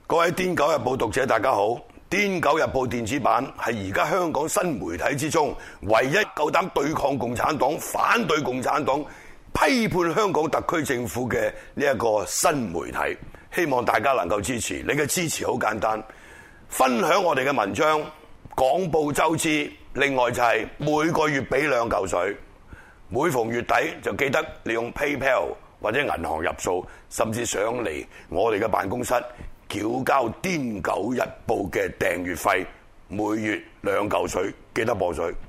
各位《癲狗日報》讀者大家好，《癲狗日報》電子版係而家香港新媒體之中唯一夠膽對抗共產黨、反對共產黨、批判香港特區政府嘅呢一個新媒體。希望大家能夠支持，你嘅支持好簡單，分享我哋嘅文章，廣佈周知。另外就係每個月俾2嚿水，每逢月底就記得利用 PayPal 或者銀行入數，甚至上嚟我哋嘅辦公室繳交《癲狗日報》嘅訂閱費，每月2嚿水，記得報水。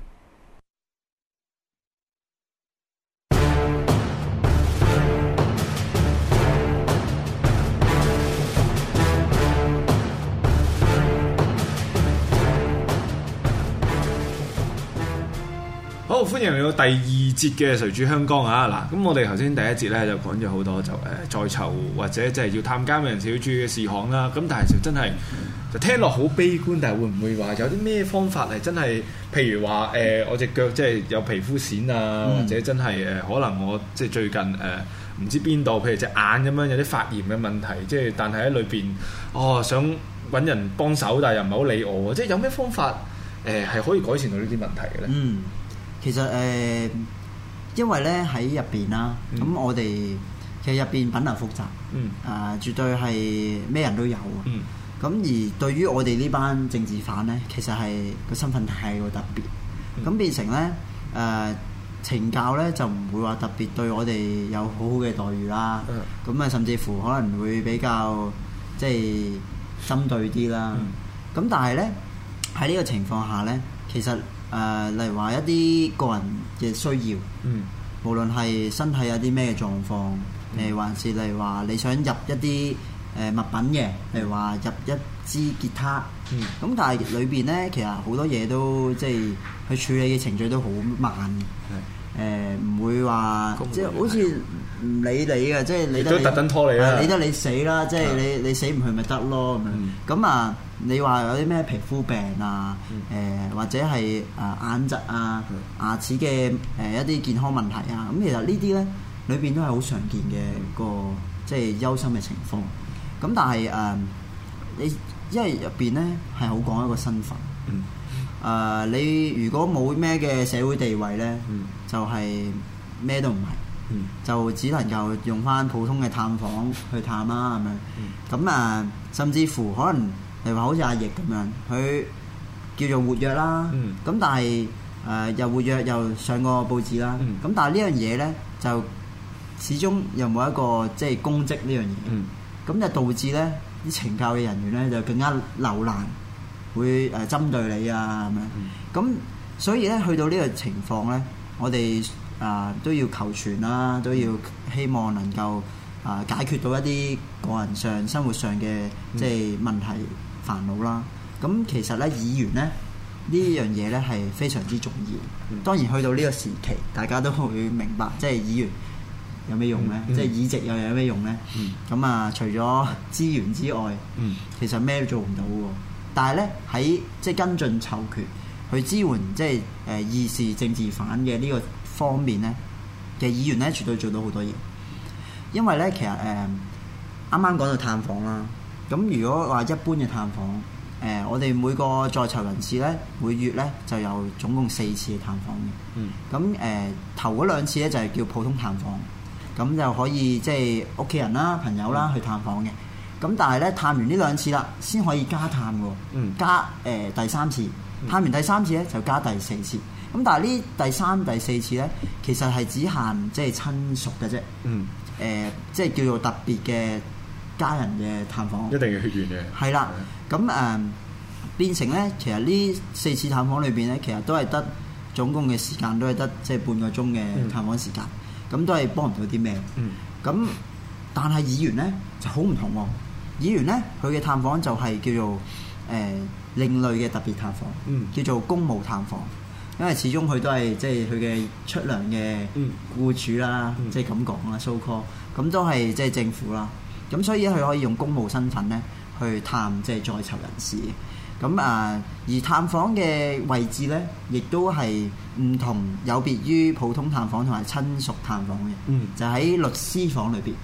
好，歡迎嚟到第2節嘅誰主香江啊！嗱，咁我哋頭先第1節咧就講咗好多在囚或者即係要探監嘅人士要注意嘅事項啦。咁但係就真係就聽落好悲觀，但係會唔會話有啲咩方法係真係？譬如話我隻腳即係有皮膚癬啊，或者真係可能我即係最近唔知邊度，譬如隻眼咁樣有啲發炎嘅問題，即係但係喺裏邊想揾人幫手，但係又唔係好理我，即係有咩方法係可以改善到呢啲問題嘅咧？ 其實因為咧喺入邊啦，咁我哋其實入邊品流複雜，絕對係咩人都有。咁而對於我哋呢班政治犯咧，其實係個身份太過特別，咁變成咧懲教咧就唔會話特別對我哋有好好嘅待遇啦。咁甚至乎可能會比較即係針對啲啦。咁但係咧喺呢個情況下咧，其實例如話一啲個人嘅需要，無論係身體有啲咩狀況，還是例如話你想入一啲物品嘅，例如話入一支吉他，咁但係裏邊咧其實好多嘢都即係去處理嘅程序都好慢，唔會話即係好似唔理你嘅，即係你都特登拖你啦， 理得你死啦，即係你死唔去咪得咯咁樣。咁你話有啲咩皮膚病啊，或者係眼疾啊、牙齒嘅一啲健康問題啊，咁其實呢啲咧裏邊都係好常見嘅個即係憂心嘅情況。咁但係你因為入邊咧係好講一個身份，你如果冇咩嘅社會地位咧，就係咩都唔係，就只能夠用返普通嘅探訪去探啦咁樣。咁甚至乎可能例如話好似阿奕咁樣，佢叫做活躍啦，咁但係又活躍又上過報紙啦，咁但係呢樣嘢咧就始終又冇一個即係公職呢樣嘢，咁就導致咧啲懲教嘅人員咧就更加留難，會針對你啊咁樣。咁所以咧去到呢個情況咧，我哋都要求全啦，都要希望能夠解決到一啲個人上生活上嘅即係問題煩惱啦。咁其實咧議員咧呢樣嘢咧係非常之重要。當然去到呢個時期，大家都會明白即係議員有咩用咧，即係議席又有咩用咧。咁除咗資源之外，其實咩都做唔到喎。但係咧喺即係跟進囚權去支援即係義士政治犯嘅呢個方面咧嘅議員咧，絕對做到好多嘢。因為咧其實啱啱講到探訪啦，咁如果話一般嘅探訪，我哋每個在囚人士咧，每月咧就有總共4次嘅探訪嘅。咁頭嗰2次咧就係叫普通探訪，咁就可以即係屋企人啦、朋友啦去探訪嘅。咁但係咧探完呢2次啦，先可以加探喎，加第3次，探完第3次咧就加第4次。咁但係呢第3、第4次咧，其實係只限即係親屬嘅啫。即係叫做特別嘅家人嘅探訪， 一定要血緣嘅。係啦，咁變成咧，其實呢4次探訪裏邊咧，其實都係得總共嘅時間都係得即係半個鐘嘅探訪時間，咁都係幫唔到啲咩。咁但係議員咧就好唔同喎，議員咧佢嘅探訪就係叫做另類嘅特別探訪，叫做公務探訪。因為始終佢都係即係佢嘅出糧嘅僱主啦，即係咁講啦 so call， 咁都係即係政府啦，咁所以佢可以用公務身份咧去探即係在囚人士。咁而探訪嘅位置咧，亦都係唔同，有別於普通探訪同埋親屬探訪嘅，就喺律師房裏邊。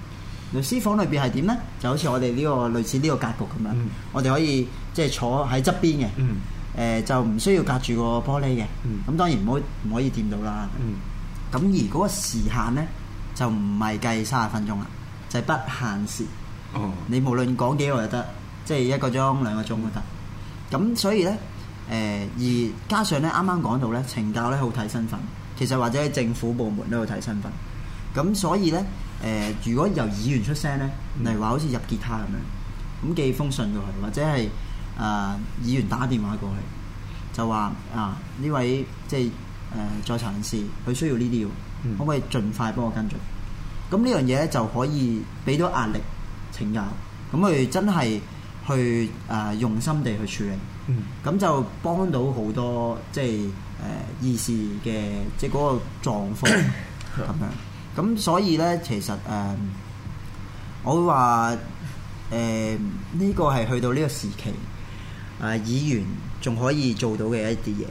律師房裏邊係點咧？就好似我哋呢個類似呢個格局咁樣，我哋可以即係坐喺側邊嘅，就唔需要隔住個玻璃嘅。咁當然唔可以掂到啦。咁而嗰個時限咧就唔係計30分鐘啦，就係不限時。你無論講幾耐就得，即係1個鐘、2個鐘都得。咁所以咧，而加上咧啱啱講到咧，懲教咧好睇身份，其實或者喺政府部門都好睇身份。咁所以咧，如果由議員出聲咧，例如話好似入結他咁樣，咁寄封信過去，或者係議員打電話過去，就話呢位即係在囚人士，佢需要呢啲，可唔可以盡快幫我跟進？咁呢樣嘢咧就可以俾到壓力懲教，咁佢真係去用心地去處理，咁就幫到好多即係議事嘅即係嗰個狀況咁樣。咁所以咧，其實我會話呢個係去到呢個時期，議員仲可以做到嘅一啲嘢。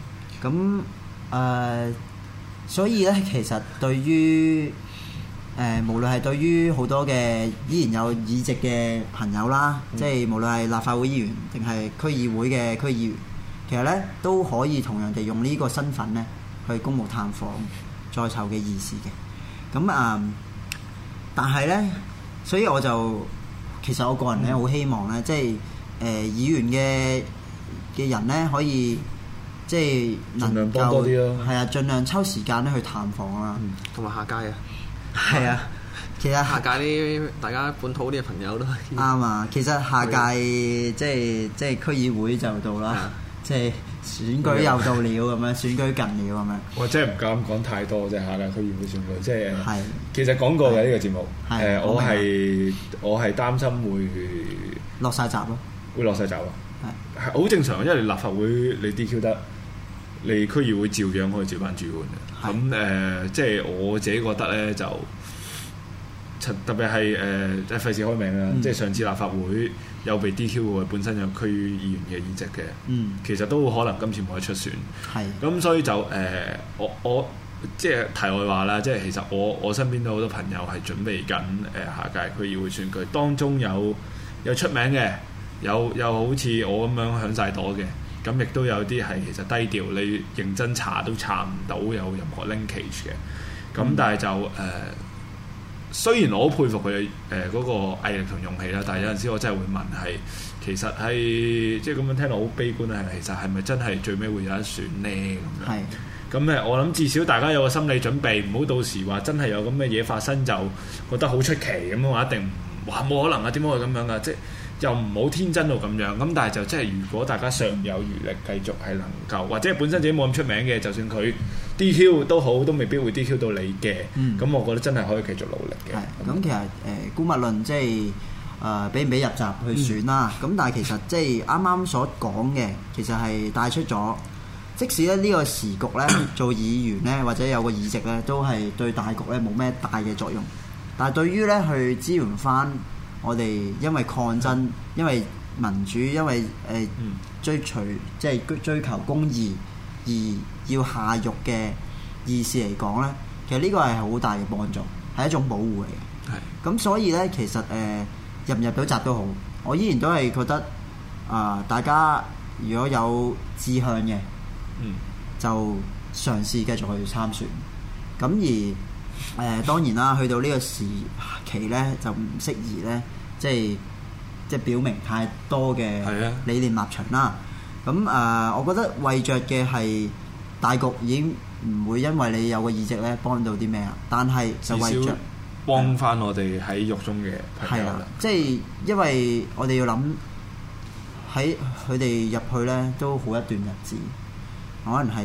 咁所以咧，其實對於無論係對於好多嘅依然有議席嘅朋友啦，即係無論係立法會議員定係區議會嘅區議員，其實咧都可以同樣地用呢個身份咧去公務探訪在囚嘅議士嘅。咁但係咧，所以我就其實我個人咧好希望咧，即係議員嘅人咧可以即係能夠盡量幫多啲咯，係啊，盡量抽時間咧去探訪啦， 同埋下屆啊， 係啊，其實下屆啲大家本土啲嘅朋友都啱啊，其實下屆即係區議會就到啦，即係選舉又到了咁樣，選舉近了咁樣。 我真係唔敢講太多啫，下屆區議會選舉，即係其實講過嘅呢個節目，我係擔心會落晒閘咯， 會落晒閘咯，係好正常，因為立法會你 DQ 得，你區議會照樣可以照翻主管嘅。咁即係我自己覺得咧，就特別係即係費事開名啦，即係上次立法會有被 DQ 嘅，本身有區議員嘅議席嘅，其實都可能今次冇得出選。咁所以就我即係題外話啦，即係其實我身邊都好多朋友係準備緊下屆區議會選舉，當中有出名嘅，有好似我咁樣響晒朵嘅，咁亦都有啲係其實低調，你認真查都查唔到有任何 linkage 嘅。咁但係就雖然我好佩服佢哋嗰個毅力同勇氣啦，但係有陣時我真係會問係其實係即係咁樣聽落好悲觀啊，其實係咪真係最尾會有得選呢？咁樣？咁我諗至少大家有個心理準備，唔好到時話真係有咁嘅嘢發生就覺得好出奇咁話，一定話冇可能啊，點解會咁樣噶？即係又唔好天真到咁樣。咁但係就即係如果大家尚有餘力，繼續係能夠或者本身自己冇咁出名嘅，就算佢 DQ 都好，都未必會 DQ 到你嘅。咁我覺得真係可以繼續努力嘅。 咁其實姑勿論即係俾唔俾入閘去選啦。咁但係其實即係啱啱所講嘅，其實係帶出咗，即使咧呢個時局咧做議員咧或者有個議席咧，都係對大局咧冇咩大嘅作用。但係對於咧去支援翻我哋因為抗爭、因為民主、因為追求公義而要下獄嘅議士嚟講咧，其實呢個係好大嘅幫助，係一種保護嚟嘅。咁所以咧，其實入唔入到閘都好，我依然都係覺得大家如果有志向嘅，就嘗試繼續去參選。咁而當然啦，去到呢個時期咧，就唔適宜咧，即係表明太多嘅理念立場啦。咁我覺得為着嘅係大局已經唔會因為你有個議席咧幫到啲咩啊，但係就為着幫翻我哋喺獄中嘅朋友啦。 即係因為我哋要諗喺佢哋入去咧都好一段日子，可能係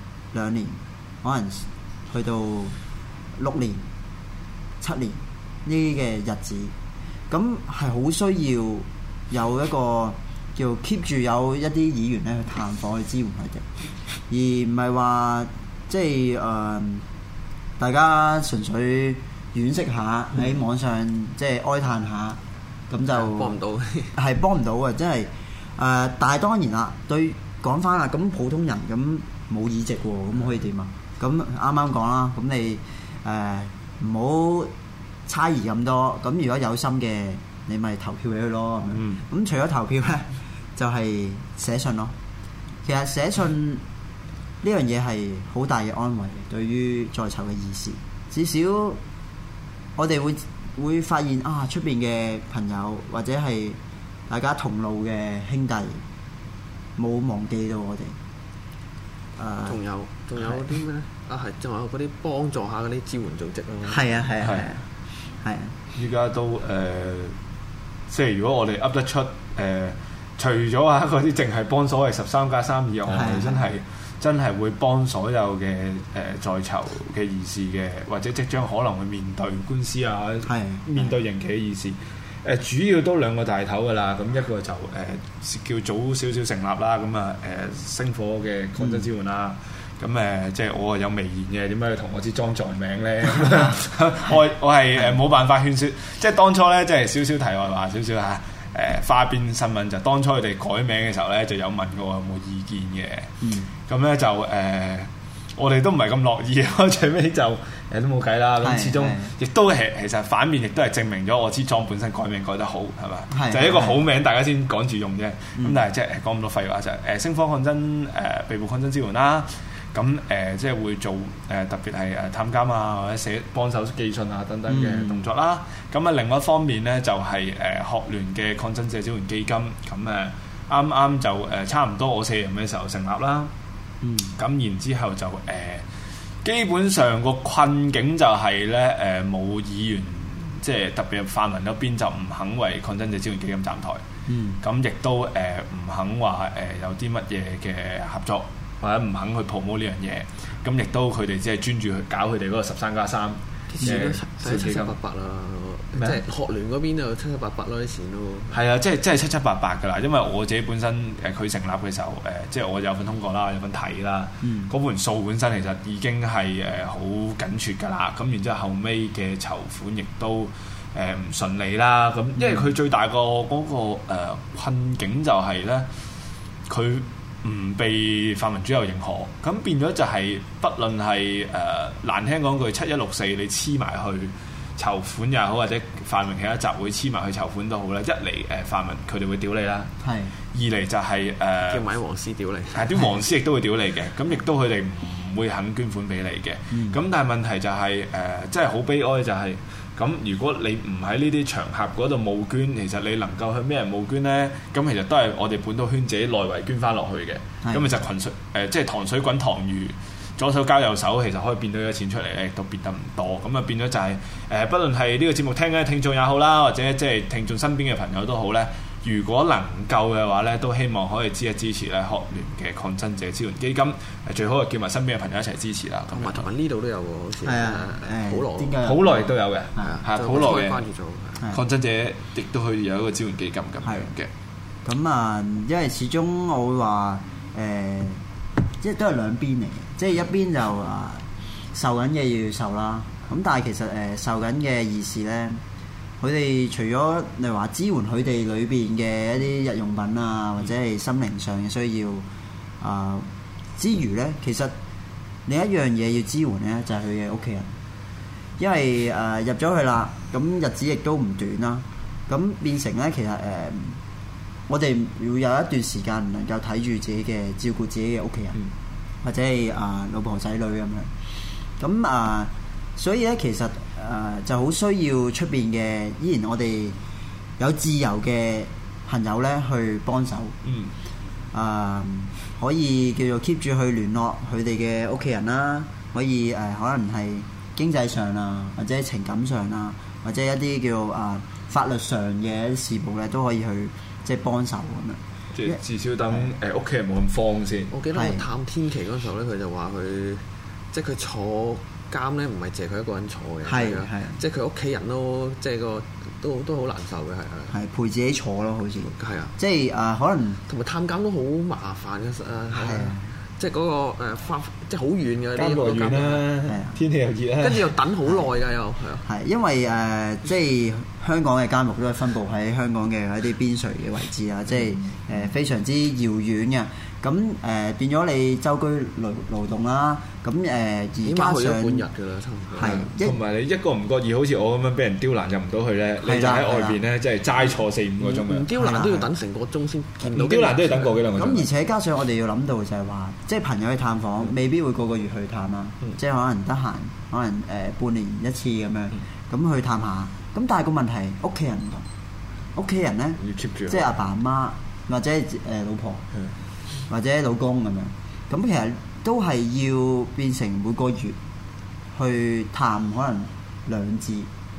2年，可能去到6年、7年呢啲嘅日子，咁係好需要有一個叫 keep 住有一啲議員咧去探訪去支援佢哋，而唔係話即係大家純粹惋惜下喺網上即係哀嘆下，咁就幫唔到， 係幫唔到嘅，真係但係當然啦，對講翻啦，咁普通人咁冇議席喎，咁可以點啊？咁啱啱講啦，咁你唔好差異咁多，咁如果有心嘅，你咪投票俾佢咯。咁除咗投票咧，就係寫信咯。其實寫信呢樣嘢係好大嘅安慰，對於在囚嘅義士，至少我哋會發現啊，出邊嘅朋友或者係大家同路嘅兄弟冇忘記到我哋。 仲有啲咩咧？仲有嗰啲幫助下嗰啲支援組織咯。 係啊！ 依家都即係如果我哋噏得出除咗嗰啲淨係幫所謂13+3以外，我哋真係會幫所有嘅在囚嘅義士嘅，或者即將可能會面對官司啊，面對刑期嘅義士。主要都兩個大頭㗎啦，咁一個就叫早少少成立啦，咁啊星火嘅抗爭支援啦，咁即係我有微言嘅，點解要同我支莊在名咧？我係冇辦法勸説，即係當初咧，即係少少題外話少少嚇。花邊新聞就當初佢哋改名嘅時候咧，就有問過我有冇意見嘅。咁咧就我哋都唔係咁樂意，最尾就都冇計啦。咁始終亦都係其實反面，亦都係證明咗我支莊本身改名改得好，係咪？就係一個好名，大家先趕住用啫。咁但係即係講咁多廢話就係星火抗爭被捕抗爭支援啦。咁即係會做特別係探監啊，或者幫手寄信啊等等嘅動作啦。咁另外一方面咧，就係學聯嘅抗爭者支援基金。咁啱啱就差唔多我卸任嘅時候成立啦。咁然之後就基本上個困境就係咧冇議員，即係特別泛民嗰邊就唔肯為抗爭者支援基金站台。咁亦都唔肯話有啲乜嘢嘅合作。或者唔肯去 promote 呢樣嘢，咁亦都佢哋只係專注去搞佢哋嗰個13+3 啲錢都七七八八啦，即係學聯嗰邊就七七八八咯啲錢咯。係啊，即係七七八八㗎啦，因為我自己本身佢成立嘅時候即係我有份通過啦，有份睇啦，嗰盤數本身其實已經係好緊缺㗎啦。咁然之後後尾嘅籌款亦都唔順利啦。咁因為佢最大個嗰個困境就係咧，佢唔被泛民主流認可，咁變咗就係不論係難聽講句7164你黐埋去籌款也好，或者泛民其他集會黐埋去籌款都好啦。一嚟泛民佢哋會屌你啦，二嚟就係叫買黃絲屌你， 係啲黃絲亦都會屌你嘅，咁亦都佢哋唔會肯捐款俾你嘅。咁但係問題就係真係好悲哀就係。咁如果你唔喺呢啲場合嗰度募捐，其實你能夠向咩人募捐呢？咁其實都係我哋本土圈自己內圍捐翻落去嘅。咁其實群水即係糖水滾糖魚，左手交右手，其實可以變到啲錢出嚟咧，都變得唔多。咁啊變咗就係不論係呢個節目聽緊嘅聽眾也好啦，或者即係聽眾身邊嘅朋友都好咧。如果能夠嘅話咧，都希望可以支持咧學聯嘅抗爭者支援基金。最好係叫埋身邊嘅朋友一齊支持啦。 同埋呢度都有喎，好似好耐都有嘅，係好耐嘅關注咗抗爭者亦都可以有一個支援基金咁樣嘅。 咁啊，因為始終我會話即係都係兩邊嚟嘅，即係一邊就受緊嘅要受啦。咁但係其實受緊嘅義士咧。佢哋除咗例如話支援佢哋裏邊嘅一啲日用品啊，或者係心靈上嘅需要之餘咧，其實另一樣嘢要支援咧，就係佢嘅屋企人，因為入咗去啦，咁日子亦都唔短啦，咁變成咧其實我哋會有一段時間唔能夠睇住自己嘅照顧自己嘅屋企人，或者係老婆仔女咁樣，咁所以咧其實就好需要出邊嘅，依然我哋有自由嘅朋友咧去幫手，可以叫做 keep 住去聯絡佢哋嘅屋企人啦，可以可能係經濟上啊，或者情感上啊，或者一啲叫法律上嘅事務咧，都可以去即係幫手咁樣。 即係至少等屋企人冇咁慌先。 我記得我探天琪嗰時候咧，佢就話佢即係佢坐監咧，唔係淨係佢一個人坐嘅，係即係佢屋企人都即係個都好難受嘅，係陪自己坐咯，好似係啊， 即係可能同埋探監都好麻煩嘅，係即係嗰個即係好遠嘅呢個監啦，天氣又熱啦， 跟住又等好耐㗎又係因為即係香港嘅監獄都係分佈喺香港嘅一啲邊陲嘅位置啊，即係非常之遙遠嘅。咁變咗你周居勞動啦，咁而加上半日㗎啦，差唔多。 係，同埋你一個唔覺意，好似我咁樣俾人刁難入唔到去咧，你就喺外邊咧，即係齋坐4-5個鐘嘅。 唔刁難都要等成個鐘先見到。 唔刁難都要等個幾兩個鐘。 咁而且加上我哋要諗到就係話，即係朋友去探訪，未必會個個月去探啦，即係可能得閒，可能半年一次咁樣，咁去探下。咁但係個問題，屋企人唔同，屋企人咧， 要 keep 住， 即係阿爸阿媽或者老婆。或者老公咁樣，咁其實都係要變成每個月去探，可能2至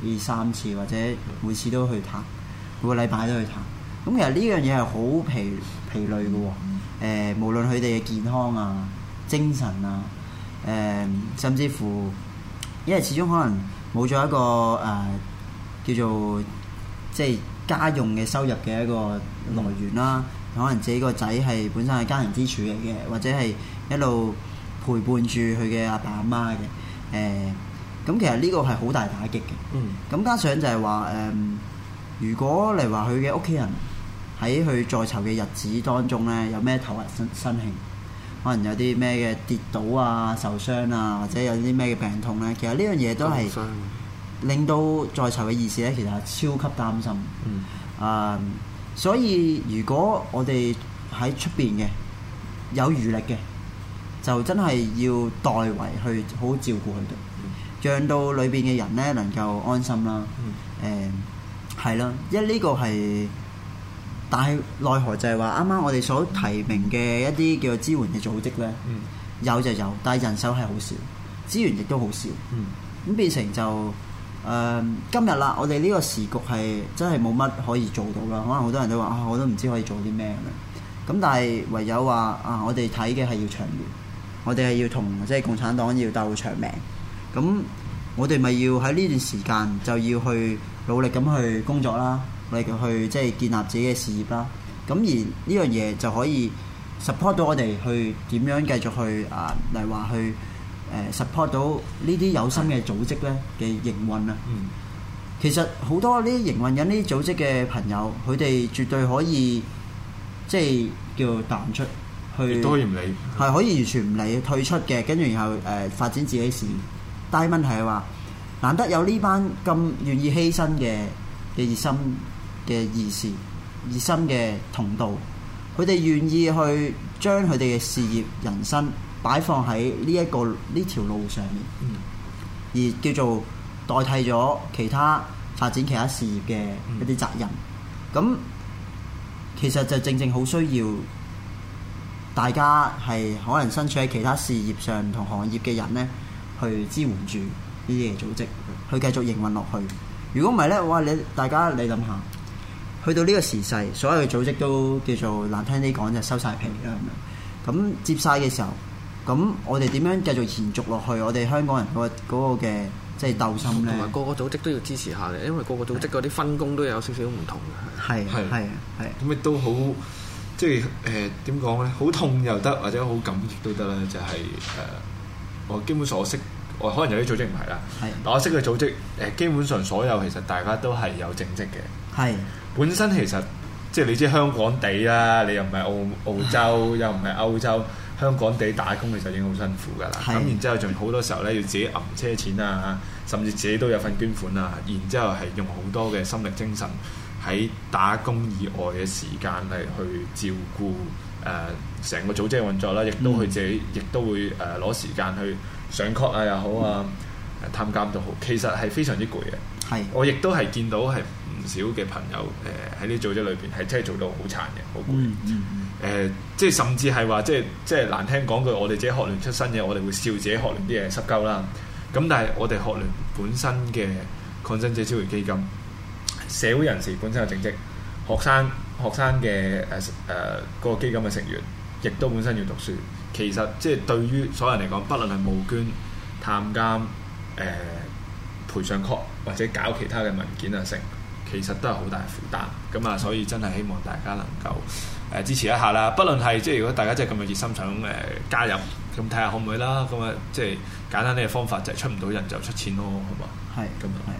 3次，或者每次都去探，每個禮拜都去探。咁其實呢樣嘢係好疲累嘅喎。無論佢哋嘅健康啊、精神啊，甚至乎，因為始終可能冇咗一個叫做即係家用嘅收入嘅一個來源啦。可能自己個仔係本身係家庭支柱嚟嘅，或者係一路陪伴住佢嘅阿爸阿媽嘅。咁其實呢個係好大打擊嘅。咁加上就係話如果嚟話佢嘅屋企人喺佢在囚嘅日子當中咧，有咩頭暈身慶，可能有啲咩嘅跌倒啊、受傷啊，或者有啲咩嘅病痛咧，其實呢樣嘢都係令到在囚嘅義士咧，其實係超級擔心。所以如果我哋喺出邊嘅有餘力嘅，就真係要代為去好好照顧佢哋，讓到裏邊嘅人咧能夠安心啦。係啦，因為呢個係，但係奈何就係話啱啱我哋所提名嘅一啲叫做支援嘅組織咧，有就有，但係人手係好少，資源亦都好少。咁變成就今日啦，我哋呢個時局係真係冇乜可以做到啦。可能好多人都話我都唔知可以做啲咩咁樣。咁但係唯有話我哋睇嘅係要長遠，我哋係要同即係共產黨要鬥長命。咁我哋咪要喺呢段時間就要去努力咁去工作啦，努力去即係建立自己嘅事業啦。咁而呢樣嘢就可以 support 到我哋去點樣繼續去例如話去support 到呢啲有心嘅組織咧嘅營運啊。其實好多呢啲營運緊呢啲組織嘅朋友，佢哋絕對可以即係叫淡出去， 都可以唔理， 係可以完全唔理退出嘅，跟住然後發展自己事業。但係問題係話，難得有呢班咁願意犧牲嘅熱心嘅義士、熱心嘅同道，佢哋願意去將佢哋嘅事業、人生擺放喺呢條路上面，而叫做代替咗其他發展其他事業嘅一啲責任。咁其實就正正好需要大家係可能身處喺其他事業上唔同行業嘅人咧，去支援住呢啲嘅組織，去繼續營運落去。如果唔係咧，哇！大家諗下，去到呢個時勢，所有嘅組織都叫做難聽啲講就收晒皮啦咁樣。咁接晒嘅時候，咁我哋點樣繼續延續落去？我哋香港人嗰個嘅即係鬥心咧， 同埋個個組織都要支持下嘅，因為個個組織嗰啲分工都有少少唔同嘅。 係咁亦都好，即係點講咧？好痛又得，或者好感激都得啦。就係我基本上我識，我可能有啲組織唔係啦，但我識嘅組織基本上所有其實大家都係有正職嘅。係本身其實即係你知香港地啦，你又唔係澳洲，又唔係歐洲。香港地打工其實已經好辛苦㗎啦，咁然之後仲好多時候咧要自己揞車錢啊，甚至自己都有份捐款啊，然之後係用好多嘅心力精神喺打工以外嘅時間嚟去照顧成個組織嘅運作啦，亦都佢自己亦都會攞時間去上 court 啊又好啊，探監都好，其實係非常之攰嘅。我亦都係見到係唔少嘅朋友喺呢組織裏邊係真係做到好殘嘅，好攰。即係甚至係話，即係難聽講句，我哋自己學聯出身嘅，我哋會笑自己學聯啲嘢濕鳩啦。咁但係我哋學聯本身嘅抗爭者支援基金，社會人士本身有正職，學生嘅嗰個基金嘅成員，亦都本身要讀書。其實即係對於所有人嚟講，不論係募捐、探監、賠上 court 或者搞其他嘅文件啊成，其實都係好大負擔。咁啊，所以真係希望大家能夠支持一下啦，不論係即係如果大家真係咁有熱心想加入，咁睇下可唔可以啦。咁啊，即係簡單啲嘅方法就係出唔到人就出錢咯，好嘛？係咁啊，係。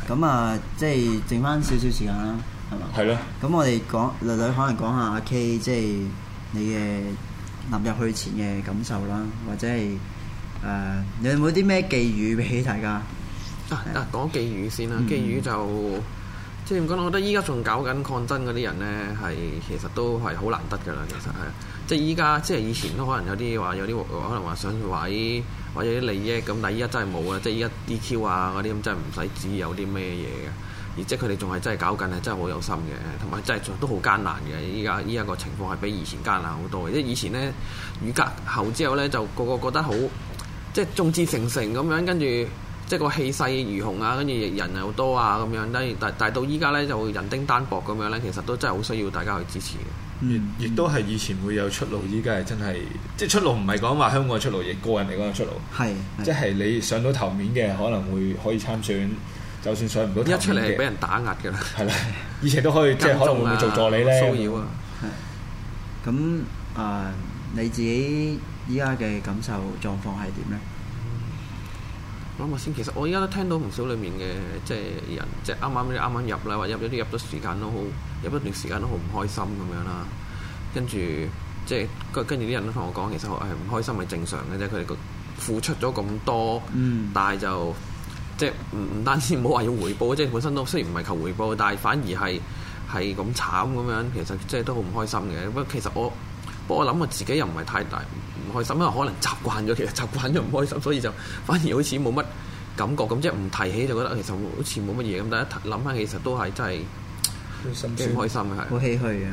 咁啊，即係剩翻少少時間啦，係嘛？ 係咯。 咁我哋略略可能講下阿 K，即係你嘅踏入去前嘅感受啦，或者係你有冇啲咩寄語俾大家？ 講寄語先啦，寄語就即係點講？我覺得依家仲搞緊抗爭嗰啲人咧，係其實都係好難得㗎啦。其實係即係依家，即係以前都可能有啲可能話想位或者啲利益咁，但係依家真係冇啊！即係依家 DQ 啊嗰啲咁，真係唔使指有啲咩嘢嘅。而即係佢哋仲係真係搞緊，係真係好有心嘅，同埋真係都好艱難嘅。依家個情況係比以前艱難好多嘅。即係以前咧雨隔後之後咧，就個個覺得好即係眾志成城咁樣，跟住即係個氣勢如虹啊，跟住人又多啊咁樣。但係到依家咧就人丁單薄咁樣咧，其實都真係好需要大家去支持嘅。 亦都係以前會有出路，依家係真係即係出路唔係講話香港嘅出路，亦個人嚟講嘅出路。係即係你上到頭面嘅可能可以參選。就算上唔到頭面嘅，一出嚟係俾人打壓嘅啦。 係啦，以前都可以即係可能會唔會做助理咧？ 騷擾啊！ 係咁你自己依家嘅感受狀況係點咧？ 諗下先，其實我依家都聽到唔少裡面嘅即係人，即係啱啱入啦，或者入咗時間都好，入一段時間都好唔開心咁樣啦。跟住即係跟住啲人都同我講，其實係唔開心係正常嘅啫。佢哋個付出咗咁多，但係就即係唔單止唔好話要回報，即係本身都雖然唔係求回報，但係反而係咁慘咁樣，其實即係都好唔開心嘅。不過其實我諗我自己又唔係太大唔開心，因為可能習慣咗，其實習慣咗唔開心，所以就反而好似冇乜感覺咁，即係唔提起就覺得其實好似冇乜嘢咁。但係諗翻其實都係真係幾唔開心嘅，係好唏噓嘅。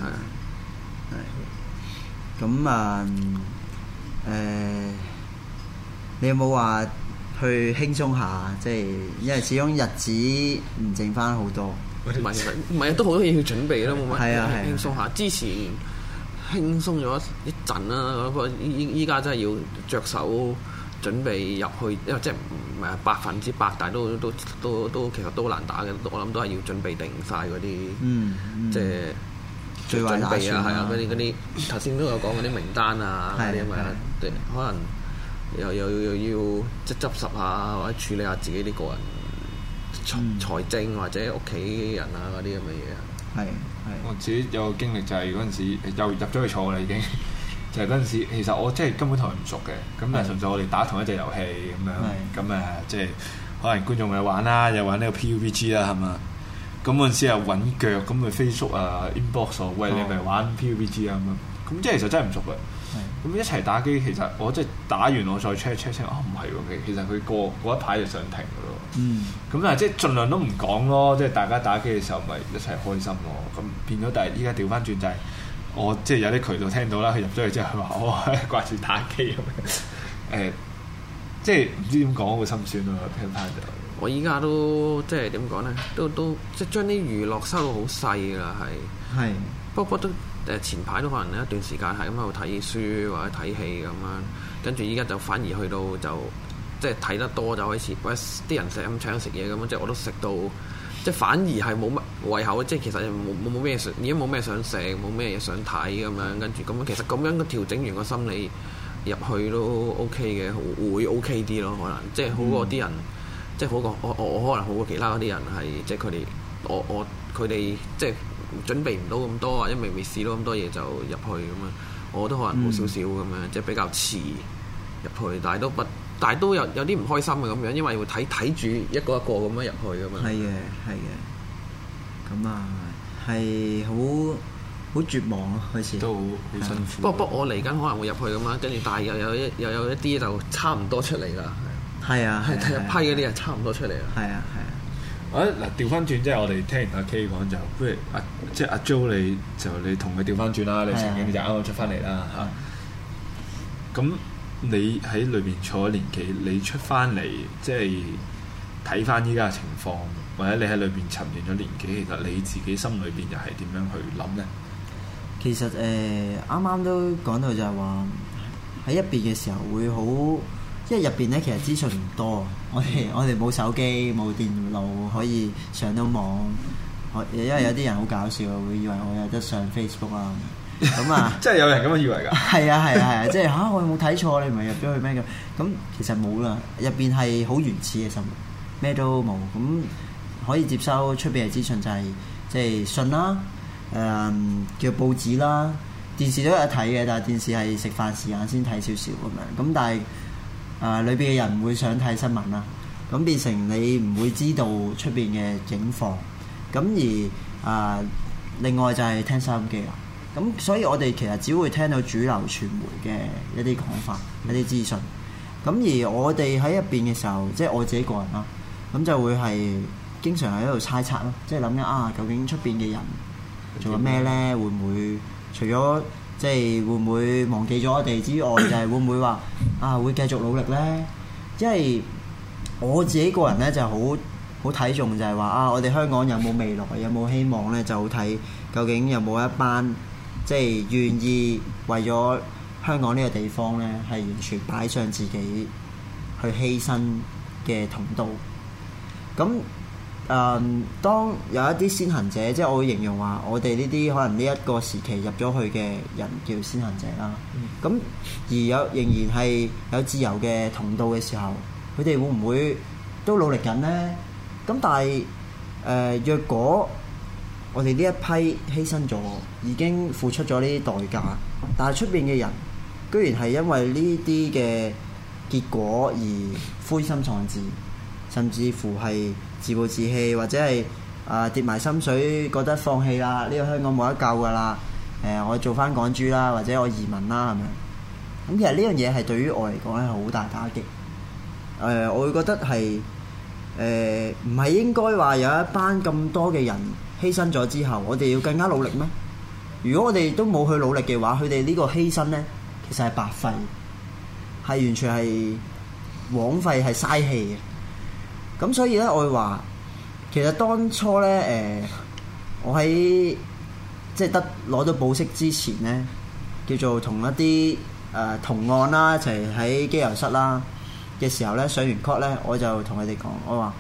係咁你有冇話去輕鬆下？即係因為始終日子唔剩翻好多， 唔係都好多嘢要準備啦，冇乜係啊輕鬆下。之前輕鬆咗一陣啦，不過依家真係要着手準備入去，因為即係唔係100%，但係都其實都好難打嘅。我諗都係要準備定晒嗰啲，即係最壞打算啊，係啊，嗰啲頭先都有講嗰啲名單啊，嗰啲咁啊，可能又要即係執拾下或者處理下自己啲個人財政或者屋企人啊嗰啲咁嘅嘢啊。 係我自己有個經歷就係嗰陣時又入咗去坐啦已經，就係嗰陣時其實我即係根本同佢唔熟嘅，咁但係純粹我哋打同一隻遊戲咁樣，咁即係可能觀眾咪玩啦，又玩呢個 PUBG 啦係嘛，咁嗰陣時又揾腳，咁咪 Facebook 啊 inbox 喂你咪玩 PUBG 啊咁樣，咁即係其實真係唔熟嘅。咁一齊打機，其實我即係打完我再 check 唔係喎，其實佢過一排就上庭嘅咯。咁但係即係盡量都唔講咯，即係大家打機嘅時候咪一齊開心咯。咁變咗，但係依家調翻轉就係我即係有啲渠道聽到啦，佢入咗去之後佢話我掛住打機咁樣。即係唔知點講會心酸咯，聽翻就。 我依家都即係點講咧，都即係將啲娛樂收到好細㗎啦，係。不過都。前排都可能一段時間係咁喺度睇書或者睇戲咁樣，跟住依家就反而去到就即係睇得多就開始，或者啲人成日咁請食嘢咁樣，即係我都食到，即係反而係冇乜胃口，即係其實冇咩想，已經冇咩想食，冇咩嘢想睇咁樣，跟住咁樣其實咁樣調整完個心理入去都 OK 嘅，會 OK 啲咯，可能即係好過啲人，即係好過我可能好過其他嗰啲人係即係佢哋佢哋即係。準備唔到咁多，或者未試到咁多嘢就入去咁樣，我都可能好少少咁樣，即係比較遲入去，但係都有啲唔開心嘅咁樣，因為會睇住一個咁樣入去咁樣。 係嘅，咁係好絕望咯，開始都好辛苦。 不過我嚟緊可能會入去咁樣，跟住但係又有一啲就差唔多出嚟啦。 係啊， 係第一批嗰啲人差唔多出嚟啦。 係啊。 嗱調翻轉，即係我哋聽完阿 K 講就，不如即係阿 Jo 你同佢調翻轉啦，你成日你就啱啱出翻嚟啦嚇。咁你喺裏邊坐咗年幾，你出翻嚟即係睇翻依家嘅情況，或者你喺裏邊沉澱咗年幾，其實你自己心裏邊又係點樣去諗咧？ 其實啱啱都講到就係話喺入邊嘅時候會好。因為入邊咧其實資訊唔多，我哋冇手機冇電腦可以上到網，因為有啲人好搞笑，會以為我有得上 Facebook 啊咁啊， 即係有人咁樣以為㗎。係啊，即係我有冇睇錯？你唔係入咗去咩咁？咁其實冇啦，入邊係好原始嘅生活，咩都冇咁。 可以接收出邊嘅資訊就係即係信啦，叫報紙啦，電視都有得睇嘅，但係電視係食飯時間先睇少少咁樣。咁但係裏邊嘅人唔會想睇新聞啦，咁變成你唔會知道出邊嘅境況。咁而另外就係聽收音機啦。咁所以我哋其實只會聽到主流傳媒嘅一啲講法、一啲資訊。咁而我哋喺入邊嘅時候，即係我自己個人啦，咁就會係經常喺度猜測咯，即係諗緊究竟出邊嘅人做緊咩咧？會唔會除咗即係會唔會忘記咗我哋之外，就係會唔會話會繼續努力咧？因為我自己個人咧就好睇重就係話我哋香港有冇未來，有冇希望咧？就好睇究竟有冇一班即係願意為咗香港呢個地方咧，係完全擺上自己去犧牲嘅同道。咁當有一啲先行者，即係我會形容話，我哋呢啲可能呢一個時期入咗去嘅人叫先行者啦。咁而仍然係有自由嘅同道嘅時候，佢哋會唔會都努力緊呢？咁但係若果我哋呢一批犧牲咗，已經付出咗呢啲代價，但係出邊嘅人居然係因為呢啲嘅結果而灰心喪志，甚至乎係自暴自棄，或者係跌埋心水，覺得放棄啦，呢個香港冇得救㗎啦。我做翻港豬啦，或者我移民啦咁樣。咁其實呢樣嘢係對於我嚟講係好大打擊。我會覺得係唔係應該話有一班咁多嘅人犧牲咗之後，我哋要更加努力咩？如果我哋都冇去努力嘅話，佢哋呢個犧牲呢，其實係白費，係完全係枉費，係嘥氣嘅。咁所以呢，我會話其實當初呢，我喺即係得攞到保釋之前呢，叫做同一啲同案啦，一齊喺機油室啦嘅時候呢，上完 court 呢，我就同佢哋講，我話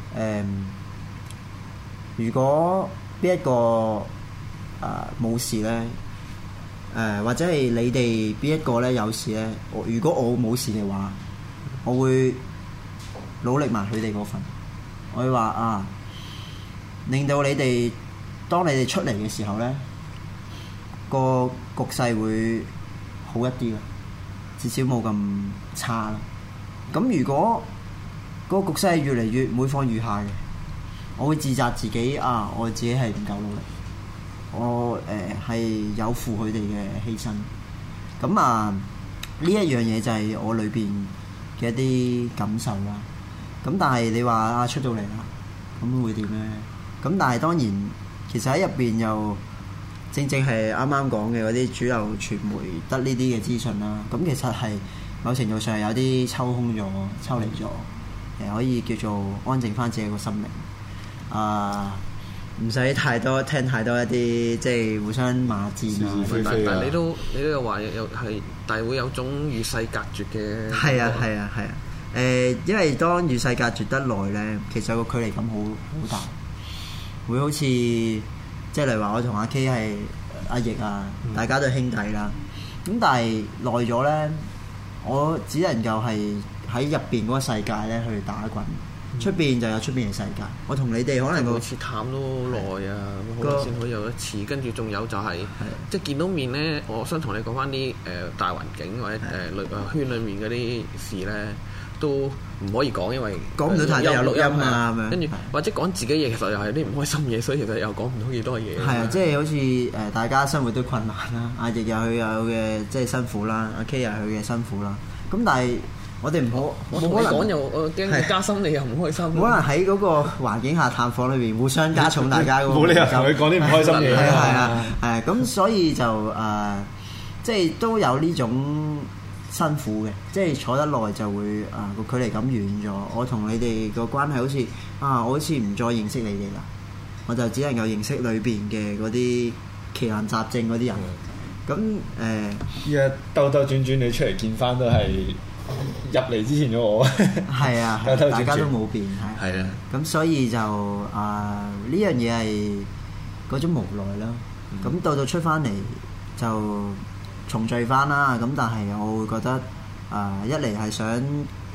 如果邊一個冇事呢，或者係你哋邊一個呢有事呢，如果我冇事嘅話，我會努力埋佢哋嗰份。我會話令到你哋當你哋出嚟嘅時候呢，個局勢會好一啲啦，至少冇咁差啦。咁如果個局勢係越嚟越每況愈下嘅，我會自責自己我自己係唔夠努力，我係有負佢哋嘅犧牲。咁呢一樣嘢就係我裏邊嘅一啲感受啦。咁但係你話出到嚟啦，咁會點呢？咁但係當然，其實喺入邊又正係啱啱講嘅嗰啲主流傳媒得呢啲嘅資訊啦。咁其實係某程度上有啲抽空咗、抽離咗，可以叫做安靜翻自己個心靈。唔使太多聽太多一啲即係互相罵戰但你都有話有係，但係會有種與世隔絕嘅。 係啊。因為當與世隔絕得耐咧，其實個距離感好大，會好似即係例如話我同阿 K 係阿奕大家都係兄弟啦。咁但係耐咗咧，我只能夠係喺入邊嗰個世界咧去打滾。出邊就有出邊嘅世界，我同你哋可能每次探都好耐啊，好耐先可以有一次。跟住仲有就係即係見到面咧，我想同你講翻啲大環境或者圈裡面嗰啲事咧，都唔可以講，因為講唔到太多有錄音啊咁樣。 跟住或者講自己嘢，其實又係啲唔開心嘢，所以其實又講唔到幾多嘢。 係啊，即係好似大家生活都困難啦，阿奕有佢有嘅即係辛苦啦，阿 K 有佢嘅辛苦啦。咁但係我哋唔好， 冇可能講又我驚加深你又唔開心。 冇可能喺嗰個環境下探訪裏邊互相加重大家嗰個。 冇理由同佢講啲唔開心嘢。 係咁所以就即係都有呢種辛苦嘅，即係坐得耐就會個距離感遠咗。我同你哋個關係好似我好似唔再認識你哋啦，我就只能夠認識裏邊嘅嗰啲奇難雜症嗰啲人。咁依家兜兜轉轉你出嚟見翻都係入嚟之前嘅我。係啊，大家都冇變係啊。咁所以就呢樣嘢係嗰種無奈啦。咁到出翻嚟就重聚翻啦。咁但係我會覺得一嚟係想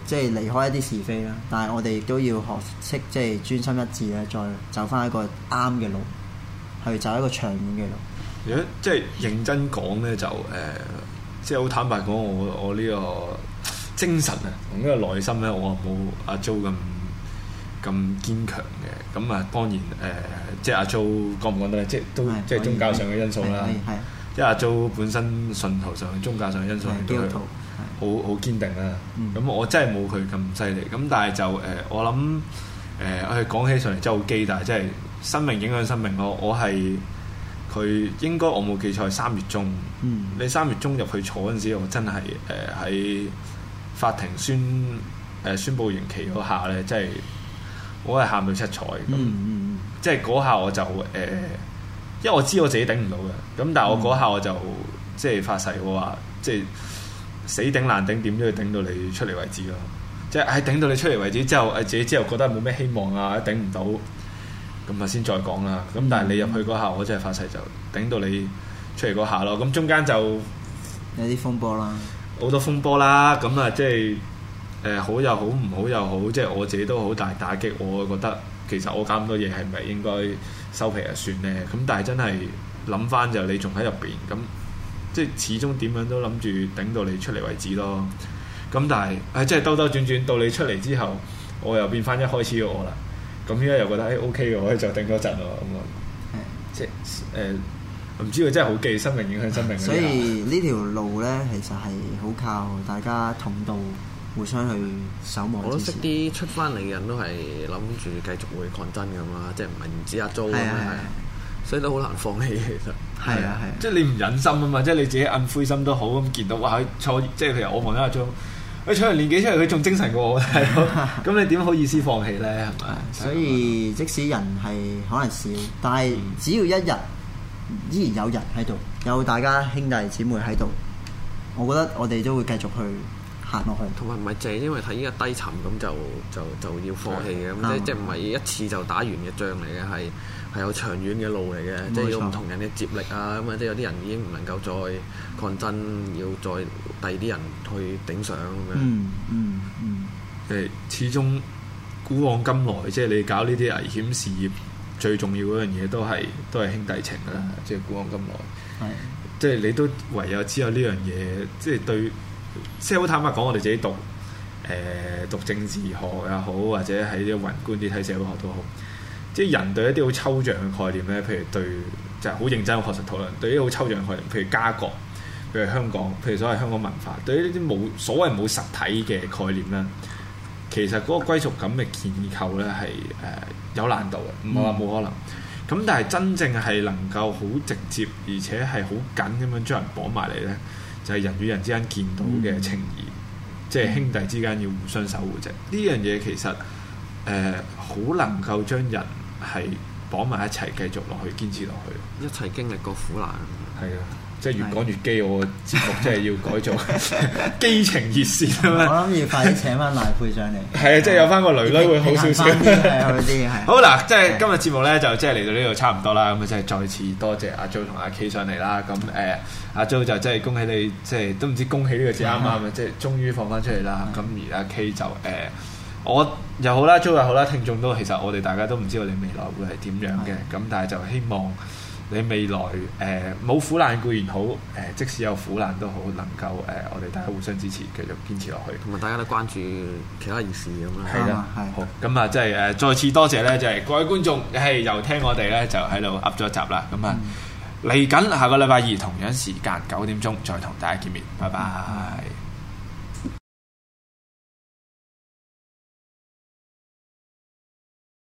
即係離開一啲是非啦。但係我哋亦都要學識即係專心一致咧，再走翻一個啱嘅路，去走一個長遠嘅路。 如果即係認真講咧，就即係好坦白講，我呢個精神啊，同呢個內心咧，我冇阿 Jo 咁堅強嘅。咁啊，當然即係阿 Jo 講唔講得咧？即係都即係宗教上嘅因素啦。因為阿 Jo 本身信徒上、宗教上嘅因素都係好堅定啦。咁我真係冇佢咁犀利。咁但係就我諗我哋講起上嚟真係好基，但係真係生命影響生命。我係佢應該我冇記錯係3月中。你3月中入去坐嗰陣時，我真係喺法庭宣佈刑期嗰下咧，真係我係喊到七彩咁。即係嗰下我就因為我知我自己頂唔到嘅，咁但係我嗰下我就即係發誓我話，即係死頂爛頂點都要頂到你出嚟為止咯。即係喺頂到你出嚟為止之後，自己之後覺得冇咩希望啊，頂唔到，咁啊先再講啦。咁但係你入去嗰下，我真係發誓就頂到你出嚟嗰下咯。咁中間就有啲風波啦， 好多風波啦。咁啊，即係好又好，唔好又好，即係我自己都好大打擊。我覺得其實我搞咁多嘢係咪應該收皮就算咧？咁但係真係諗翻就你仲喺入邊，咁即係始終點樣都諗住頂到你出嚟為止咯。咁但係即係兜兜轉轉到你出嚟之後，我又變翻一開始嘅我啦。咁依家又覺得OK 嘅，我就頂多陣咯。咁啊，即係唔知佢真係好記生命影響生命。 所以呢條路咧，其實係好靠大家同道，互相去守望。 我都識啲出翻嚟嘅人都係諗住繼續會抗爭咁啦，即係唔止阿 Jo 咁樣，所以都好難放棄其實。 係啊， 即係你唔忍心啊嘛，即係你自己暗灰心都好咁見到哇，坐即係譬如我望緊阿 Jo，佢坐完年幾出嚟，佢仲精神過我，係咯。咁你點好意思放棄咧？係咪？ 所以即使人係可能少，但係只要一日依然有人喺度，有大家兄弟姊妹喺度，我覺得我哋都會繼續去行落去。 同埋唔係淨係因為睇依個低沉咁就要放棄嘅，咁即係唔係一次就打完嘅仗嚟嘅，係有長遠嘅路嚟嘅，即係要唔同人嘅接力啊，咁啊即係有啲人已經唔能夠再抗爭，要再第二啲人去頂上咁樣。 即係始終古往今來，即係你搞呢啲危險事業，最重要嗰樣嘢都係兄弟情啦。即係古往今來，即係你都唯有知道呢樣嘢，即係對，即係好坦白講，我哋自己讀政治學又好，或者喺啲宏觀啲睇社會學都好。即係人對一啲好抽象嘅概念咧，譬如對就係好認真、好確實討論。對於好抽象嘅概念，譬如家國，譬如香港，譬如所謂香港文化，對於呢啲所謂冇實體嘅概念咧，其實嗰個歸屬感嘅建構咧係有難度嘅，唔係話冇可能。咁但係真正係能夠好直接，而且係好緊咁樣將人綁埋嚟咧，就係人與人之間見到嘅情誼，即係兄弟之間要互相守護啫。呢樣嘢其實好能夠將人係綁埋一齊，繼續落去，堅持落去， 一齊經歷過苦難。 係啊，即係越講越基，我節目真係要改做基情熱線啊嘛！ 我諗要快啲請翻賴珮上嚟。係啊，即係有翻個女女會好少少。好嗱，即係今日節目咧就即係嚟到呢度差唔多啦。咁啊，即係再次多謝阿 Jo 同阿 K 上嚟啦。咁阿 Jo 就真係恭喜你，即係都唔知恭喜呢個字啱唔啱啊！即係終於放翻出嚟啦。咁而阿 K 就我又好啦 ，Jo 又好啦，聽眾都其實我哋大家都唔知道你未來會係點樣嘅，咁但係就希望你未來冇苦難固然好，即使有苦難都好，能夠我哋大家互相支持，繼續堅持落去， 同埋大家都關注其他議事咁樣。 係啦，好，咁啊，即係再次多謝咧，就係各位觀眾又聽我哋咧就喺度噏咗一集啦，咁啊嚟緊下個禮拜二同樣時間9點鐘再同大家見面，拜拜。